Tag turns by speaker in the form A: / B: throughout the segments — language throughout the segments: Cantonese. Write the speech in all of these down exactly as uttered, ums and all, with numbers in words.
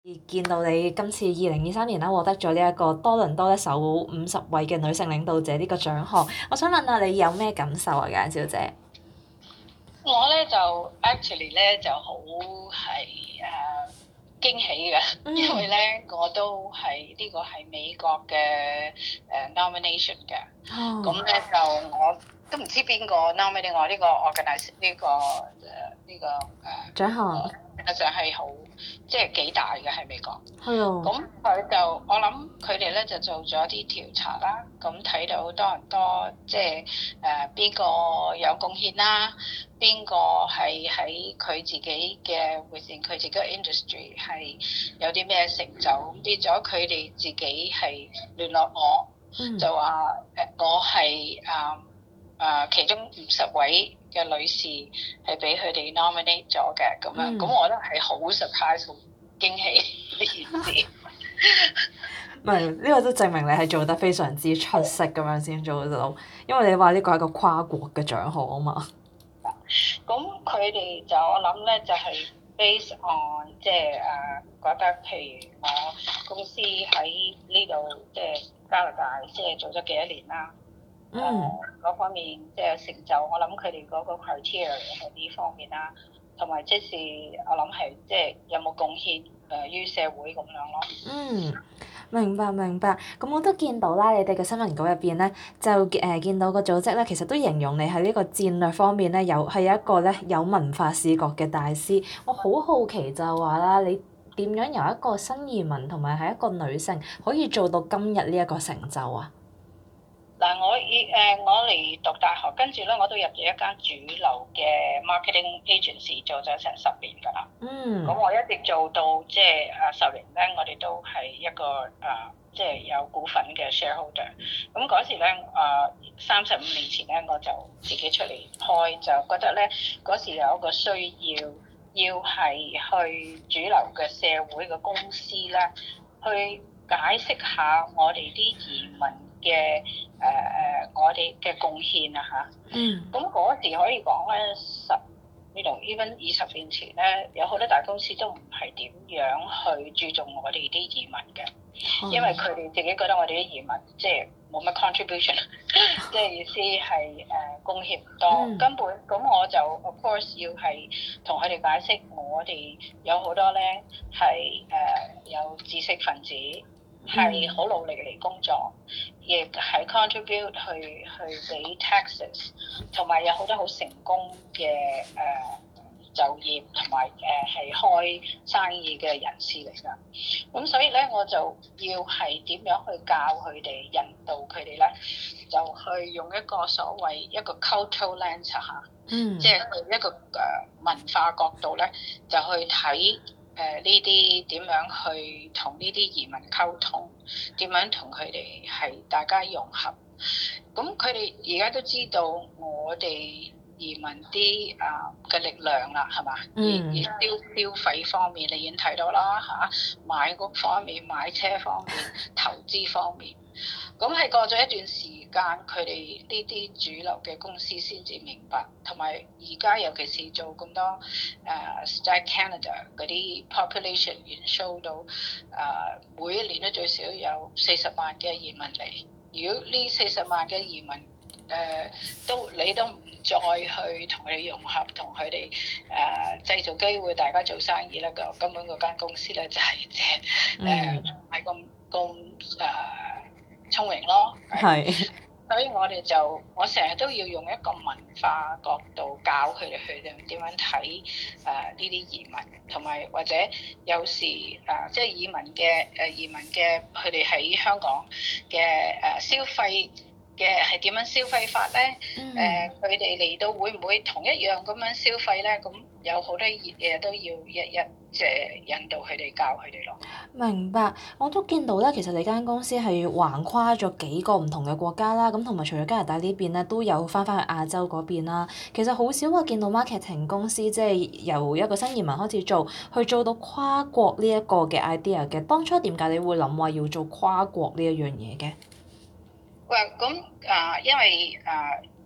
A: 見到你今次二零二三年啦，獲得咗呢一個多倫多咧首五十位嘅女性領導者呢個獎項，我想問下你有咩感受啊，簡小姐？
B: 我咧就 actually 咧就好係誒驚喜嘅，嗯、因為咧我都係呢個係美國嘅誒 nomination 嘅，咁咧、哦、就我都唔知邊個 nominate 我呢個 organize 呢、呢個誒呢、呢個誒獎項，實際上係好即係幾大嘅喺美國。係啊。咁佢就我諗佢哋咧就做咗啲調查啦，咁睇到多倫多即係誒邊個有貢獻啦，邊個係喺佢自己嘅 within 佢自己嘅 industry 係有啲咩成就，咁變咗佢哋自己係聯絡我，嗯、就話誒我係誒誒其中五十位嘅女士係俾佢哋 nominate 咗嘅咁樣，咁、嗯、我覺得係好 surprise 好驚喜呢件事。
A: 唔係，呢個都證明你係做得非常之出色咁樣先做到，因為你話呢個係一個跨國嘅獎項啊嘛。
B: 咁佢哋就我諗咧就係 based on 即係誒覺得，譬如我公司喺呢度即係加拿大即係做咗幾多年啦，誒嗰、嗯呃、方面即係成就，我諗佢哋嗰個 criteria 喺呢方面啦，同埋即是我諗係即係有冇貢獻誒於社會咁樣咯。
A: 嗯。明白明白，咁我都見到啦，你哋嘅新聞稿入邊咧，就誒、呃、見到個組織咧，其實都形容你喺呢個戰略方面咧，有係一個咧有文化視覺嘅大師。我好好奇就係話啦，你點樣由一個新移民同埋係一個女性，可以做到今日呢一個成就啊？
B: 嗱，我以誒我嚟讀大學，跟住咧我都入咗一間主流嘅 marketing agency 做咗成十年㗎啦。嗯。咁我一直做到即係誒十年咧，我哋都係一個誒即係有股份嘅 shareholder。咁嗰時咧誒三十五年前咧，我就自己出嚟開，就覺得咧嗰時有一個需要，要係去主流嘅社會嘅公司咧，去解釋下我哋啲移民嘅誒誒，我哋嘅貢獻啊嚇。嗯。咁嗰時可以講咧，十呢度 even 二十年前咧，有好多大公司都唔係點樣去注重我哋啲移民嘅，嗯、因為佢哋自己覺得我哋啲移民即係冇乜 contribution，即係意思係誒貢獻唔多，嗯、根本咁我就 of course 要係同佢哋解釋，我哋有好多咧係誒有知識分子。係好努力嚟工作，亦係 contribute 去去俾 taxes，同埋有好多好成功嘅誒、呃、就業同埋誒係開生意嘅人士嚟㗎。咁所以咧，我就要係點樣去教佢哋，引導佢哋咧，就去用一個所謂一個 cultural lens 嚇，嗯，即係一個誒文化角度咧，就去睇。誒呢啲點樣去同呢啲移民溝通？點樣同佢哋係大家融合？咁佢哋而家都知道我哋移民啲啊嘅力量啦，係嘛？嗯。而消消費方面，你已經睇到啦嚇，買屋方面、買車方面、投資方面。咁係過咗一段時間，佢哋呢啲主流嘅公司先至明白，同埋而家尤其是做咁多誒、uh, Start Canada 嗰啲 population 已經 show 到誒、uh, 每一年都最少有四十萬嘅移民嚟。如果呢四十萬嘅移民誒、uh, 都你都唔再去同佢哋融合，同佢哋誒製造機會，大家做生意咧，個根本嗰間公司咧就係即係誒唔係咁咁誒聰明咯，係，所以我哋就我成日都要用一個文化角度教佢哋去點點樣睇誒呢啲移民，同埋或者有時誒、呃、即係移民嘅誒、呃、移民嘅佢哋喺香港嘅誒、呃、消費嘅係點樣消費法咧？誒佢哋嚟到會唔會同一樣咁樣消費咧？咁有好多嘢都要一一即係引導佢哋教佢哋咯。
A: 明白，我都見到咧，其實你間公司係橫跨咗幾個唔同嘅國家啦，咁同埋除咗加拿大呢邊咧，都有翻返去亞洲嗰邊啦。其實好少話見到 marketing 公司即係由一個新移民開始做，去做到跨國呢一個嘅 idea 嘅。當初點解你會諗話要做跨國呢一樣嘢嘅？
B: 喂，咁啊，因為啊。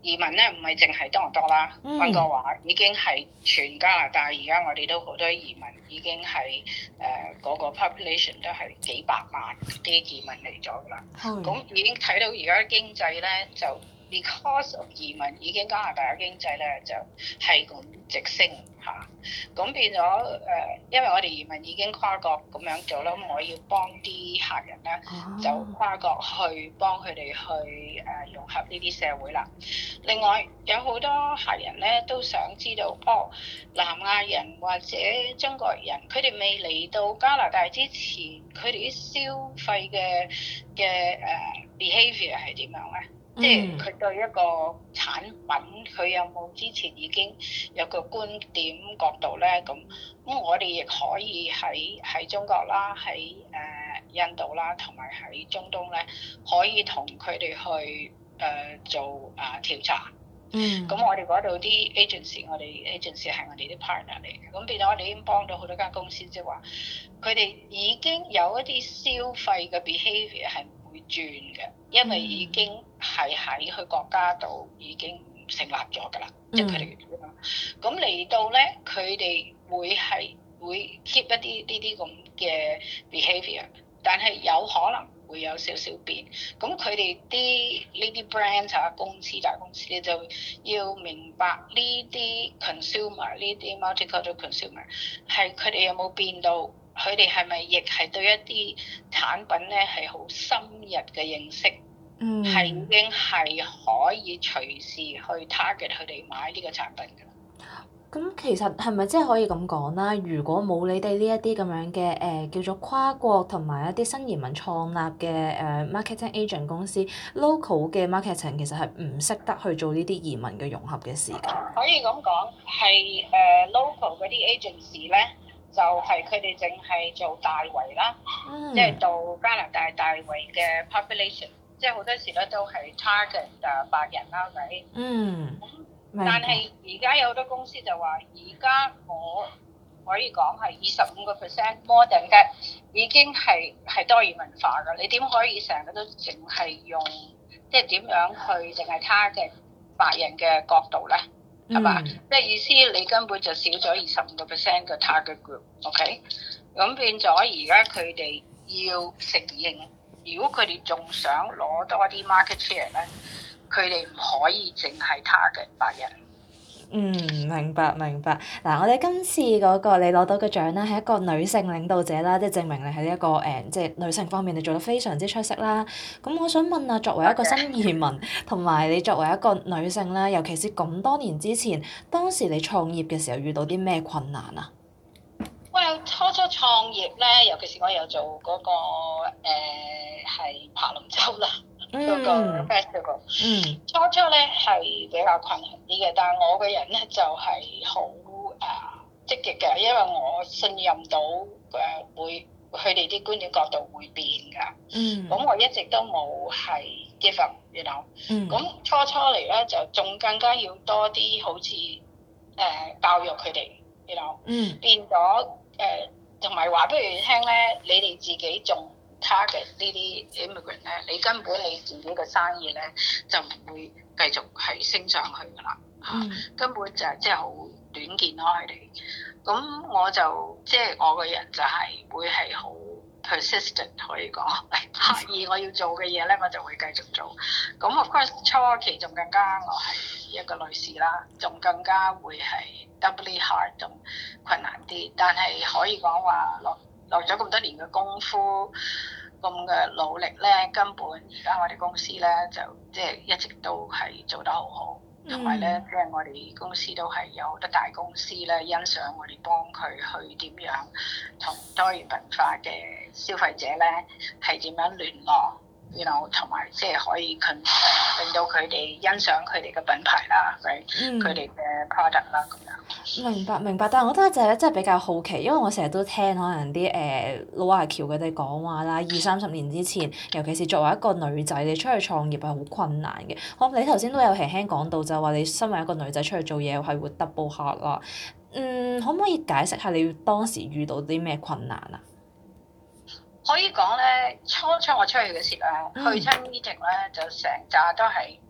B: 移民咧唔係淨係多倫多啦，溫哥華已經係全加拿大，而家我哋都好多移民已經係誒嗰個 population 都係幾百萬啲移民嚟咗㗎啦。咁、嗯、已經睇到而家經濟咧就 because of 移民已經加拿大嘅經濟咧就係咁直升嚇。咁、啊、變咗誒、呃，因為我哋移民已經跨國咁樣做啦，咁我要幫啲客人咧、啊、就跨國去幫佢哋去誒、呃、融合呢啲社會啦。另外有好多客人咧都想知道，哦，南亞人或者中國人，佢哋未嚟到加拿大之前，佢哋啲消費嘅嘅誒 behaviour 係點樣咧？嗯、即係佢對一個產品，佢有冇之前已經有個觀點角度咧？咁咁我哋亦可以喺喺中國啦，喺誒、呃、印度啦，同埋喺中東咧，可以同佢哋去。誒、呃、做啊、呃、調查，嗯，咁我哋嗰度啲 agency，我哋 agency 係我哋啲 partner 嚟嘅，咁變咗我哋已經幫到好多間公司，即係話佢哋已經有一啲消費嘅 behaviour 係唔會轉嘅，因為已經係喺佢國家度已經成立咗㗎啦，即係佢哋咁嚟到咧，佢哋會係會 keep 一啲呢啲咁嘅 behaviour， 但係有可能會有少少變，咁佢哋啲呢啲 brand 啊，公司大公司咧就要明白呢啲 consumer 呢啲 multicultural consumer 係佢哋有冇變到，佢哋係咪亦係對一啲產品咧係好深入嘅認識，嗯，係已經係可以隨時去 target 佢哋買呢個產品㗎。
A: 咁其實係咪真係可以咁講啦？如果冇你哋呢一啲咁樣嘅誒、呃、叫做跨國同埋一啲新移民創立嘅誒、呃、marketing agent 公司 local 嘅 marketing 其實係唔識得去做呢啲移民嘅融合嘅事㗎。
B: 可以咁講，係誒、uh, local 嗰啲 agency 咧，就係佢哋淨係做大圍啦，即係、嗯、到加拿大大圍嘅 population，即係好多時咧都係 target 誒白人啦，係咪？嗯。但係而家有好多公司就話，而家我可以講係二十五個 percent more than that 已經係係多元文化㗎。你點可以成日都淨係用，即係點樣去淨係 target 白人嘅角度咧？係嘛？即係、嗯、意思你根本就少咗二十五個 percent 嘅 target group。OK，咁變咗而家佢哋要承認，如果佢哋仲想攞多啲 market share 咧？佢哋唔可以淨係 target白人。
A: 嗯，明白明白。嗱，我哋今次嗰個你攞到嘅獎咧，係一個女性領導者啦，即係證明你喺呢一個誒，即係女性方面你做得非常之出色啦。咁我想問啊，作為一個新移民，同埋你作為一個女性咧，尤其是咁多年之前，當時你創業嘅時候遇到啲咩困難啊？
B: 我有初初創業咧，尤其是我有做嗰、那個誒係爬龍舟啦。嗰個 festival，嗯，初初咧係比較困難啲嘅，但係我個人咧就係好誒積極嘅，因為我信任到誒、呃、會佢哋啲觀點角度會變㗎，嗯，咁我一直都冇係 give up，you know，嗯，咁初初嚟咧就仲更加要多啲好似誒、呃、教育佢哋，you know，嗯，變咗誒同埋話俾佢哋聽咧，你哋自己仲 target 呢啲 immigrant 咧，你根本你自己嘅生意咧就唔會繼續係升上去㗎啦，嚇、嗯，根本就係即係好短見咯佢哋。咁我就即係、就是、我個人就係會係好 persistent 可以講，刻意我要做嘅嘢咧，我就會繼續做。咁 of course 初期仲更加我係一個女士啦，仲更加會係 doubly hard 咁困難啲，但係可以講話落落咗咁多年嘅功夫，咁嘅努力咧，根本而家我哋公司咧就即係一直都係做得好好，同埋咧即係我哋公司都係有好多大公司咧欣賞我哋幫佢去點樣同多元文化嘅消費者咧係點樣聯絡，然後同埋即係可以 con 令到佢哋欣賞佢哋嘅品牌啦，佢哋嘅 product 啦咁樣。
A: 明白明白，但係我覺得就係真係比較好奇，因為我成日都聽可能啲誒、呃、老華僑佢哋講話啦，二三十年之前，尤其是作為一個女仔，你出去創業係好困難嘅。好，你頭先都有輕輕講到，就係話你身為一個女仔出去做嘢係會 double hard 啦。嗯，可唔可以解釋下你當時遇到啲咩困難啊？
B: 可以講咧，初初我出去嘅時候咧，嗯、去親 meeting 咧就成扎都係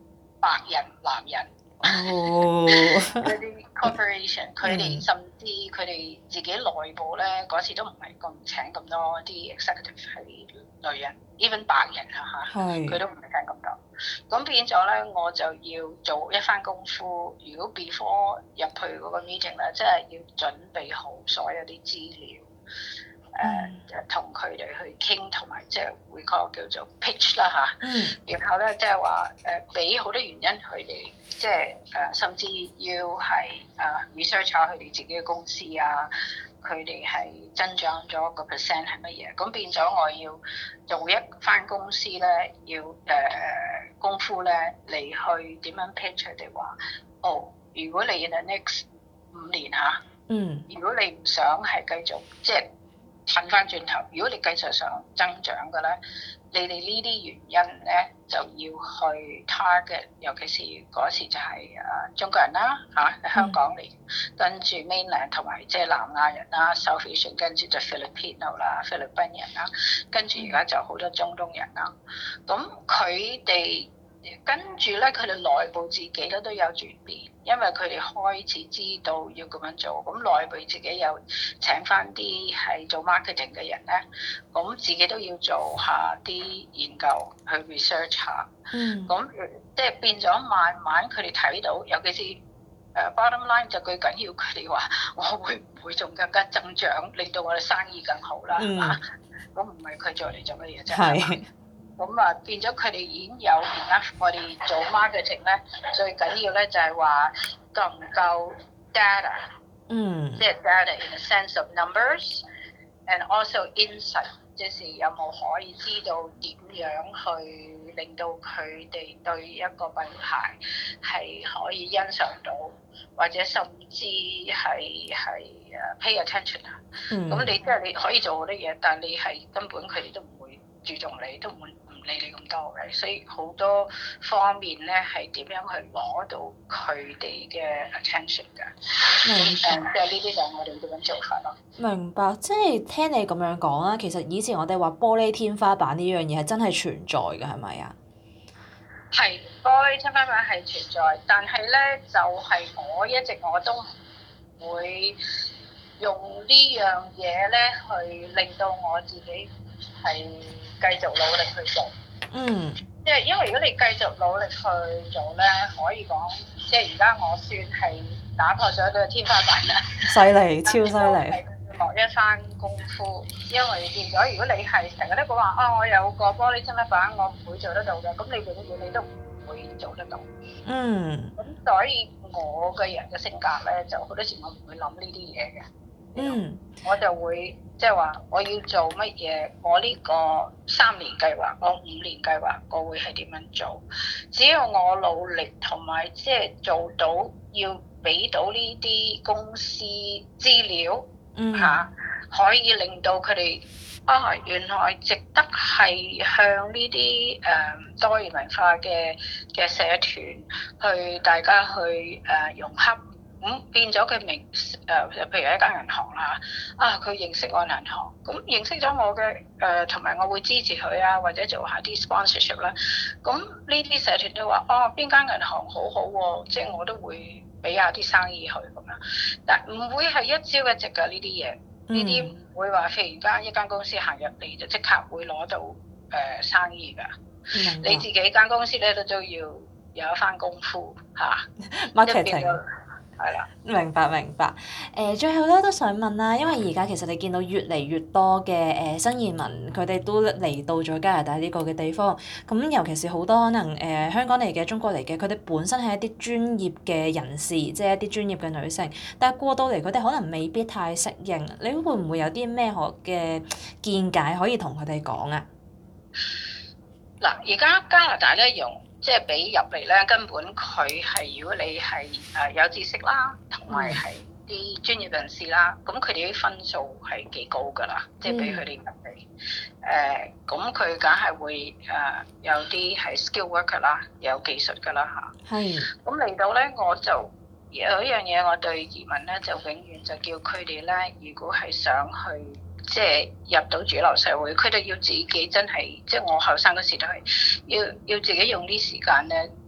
B: 白人男人。
A: 哦，
B: 嗰啲 corporation，佢哋甚至佢哋自己內部咧嗰時都唔係咁請咁多啲 executive 係女人 ，even 白人啊嚇，佢
A: 是
B: 都唔係請咁多。咁變咗咧，我就要做一番功夫。如果 before 入去嗰個 meeting 咧，即係要準備好所有啲資料。誒同佢哋去傾，同埋即係會講叫做 pitch 啦嚇。嗯。然後咧，即係話誒，俾、呃、好多原因佢哋，即係誒，甚至要係誒 research 下佢哋自己嘅公司啊，佢哋係增長咗個 percent 係乜嘢？咁變咗我要做一翻公司咧，要誒、呃、功夫咧嚟去點樣 pitch 佢哋話，哦，如果你 in the next 五年嚇，嗯，如果你唔想係繼續即係。褪翻轉頭，如果你繼續想增長嘅咧，你哋呢啲原因咧就要去 target，尤其是嗰時就係誒中國人啦嚇，喺香港嚟，嗯、跟住 mainland 同埋即係南亞人啦 South Asian 跟住就 Filipino 啦，菲律賓人啦，跟住而家就好多中東人啦，咁佢哋。跟住咧，佢哋內部自己咧都有轉變，因為佢哋開始知道要咁樣做，咁內部自己又請翻啲係做 marketing 嘅人咧，咁自己都要做下啲研究去 research 下，嗯，咁即係變咗慢慢佢哋睇到，尤其是誒、uh, bottom line 就最緊要佢哋話，我會唔會仲更加增長，令到我哋生意更好啦，係嘛？咁唔係佢做嚟做乜嘢啫？係。咁啊，變咗佢哋已經有而家我哋做 marketing 咧，最緊要咧就係話夠唔夠 data，嗯，即係 data in the sense of numbers，and also insight，即是有冇可以知道點樣去令到佢哋對一個品牌係可以欣賞到，或者甚至係係誒 pay attention 啊。嗯。咁你即係你可以做好多嘢，但係你係根本佢哋都唔會注重你，都唔會。理你咁多嘅，所以好多方面咧係點樣去攞到佢哋嘅 attention 㗎？明白。誒，即係呢啲就係我哋點樣做法咯。
A: 明白，即係聽你咁樣講啦。其實以前我哋話玻璃天花板呢樣嘢係真係存在嘅，係咪啊？
B: 係玻璃天花板係存在，但係咧就係、是、我一直我都唔會用呢樣嘢咧去令到我自己係。繼續努力去做，嗯，即係因為如果你繼續努力去做咧，可以講，即係而家我算係打破咗個天花板啦，
A: 犀利，超犀利，
B: 落一番功夫，因為變咗，如果你係成日都講話啊，我有個玻璃天花板，我唔會做得到嘅，咁你永遠你都唔會做得到，嗯，咁所以我嘅人嘅性格咧，就好多時我唔會諗呢啲嘢嘅。嗯，我就會即係話我要做乜嘢，我呢個三年計劃，我五年計劃，我會係點樣做？只要我努力同埋即係做到，要俾到呢啲公司資料，嗯嚇、啊，可以令到佢哋啊原來值得係向呢啲誒多元文化嘅嘅社團去大家去誒、呃、融洽。咁、嗯、變咗佢明誒、呃，譬如一間銀行啦，啊佢認識我銀行，咁認識咗我嘅誒，同、呃、埋我會支持佢啊，或者做下啲 sponsorship 啦。咁呢啲社團都話，哦邊間銀行好好、啊、喎，即係我都會俾下啲生意佢咁樣。但唔會係一朝一夕㗎呢啲嘢，呢啲唔會話忽然間一間公司行入嚟就即刻會攞到誒、呃、生意㗎。嗯、你自己間公司咧都都要有一番功夫嚇。
A: Marketing。
B: 係啦，
A: 明白明白。誒、呃，最後咧都想問啦，因為而家其實你見到越嚟越多嘅誒、呃、新移民，佢哋都嚟到咗加拿大呢個嘅地方。咁尤其是好多可能誒、呃、香港嚟嘅、中國嚟嘅，佢哋本身係一啲專業嘅人士，即係一啲專業嘅女性。但係過到嚟，佢哋可能未必太適應。你會唔會有啲咩學嘅見解可以同佢哋講啊？
B: 嗱，而家加拿大咧用。即係俾入嚟咧，根本佢係如果你係誒有知識啦，同埋係啲專業人士啦，咁佢哋啲分數係幾高㗎啦。即係俾佢哋入嚟誒，咁佢梗係會誒、呃、有啲係 skill worker 啦，有技術㗎啦嚇。係。咁嚟到咧，我就有一樣嘢，我對移民咧就永遠就叫佢哋咧，如果係想去。即係入到主流社會，佢哋要自己真係，即係我後生嗰時都係要要自己用啲時間咧，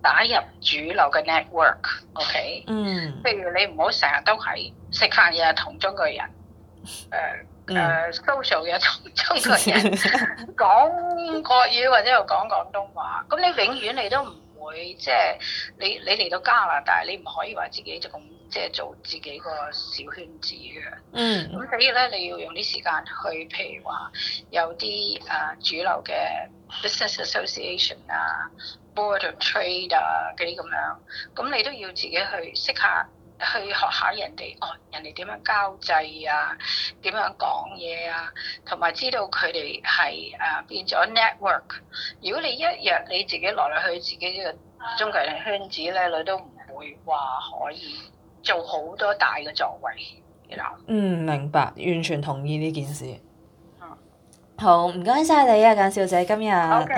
B: 打入主流嘅 network，OK？、Okay？
A: 嗯。
B: 譬如你唔好成日都係食飯日日同中國人，誒、呃、誒 social 嘅同中國人講國語或者又講廣東話，咁你永遠你都唔會即係你你嚟到加拿大，你唔可以話自己就咁即係做自己個小圈子嘅。嗯。咁所以咧，你要用啲時間去，譬如話有啲誒、呃、主流嘅 business association 啊。Board of Trade 啊嗰啲咁樣，咁你都要自己去識下，去學下人哋哦，人哋點樣交際啊，點樣講嘢啊，同埋知道佢哋係誒變咗 network。如果你一日你自己來來去自己呢個中國人圈子咧，你都唔會話可以做好多大嘅作為，你諗？
A: 嗯，明白，完全同意呢件事。嗯，好，唔該晒你啊，簡小姐，今日。Okay.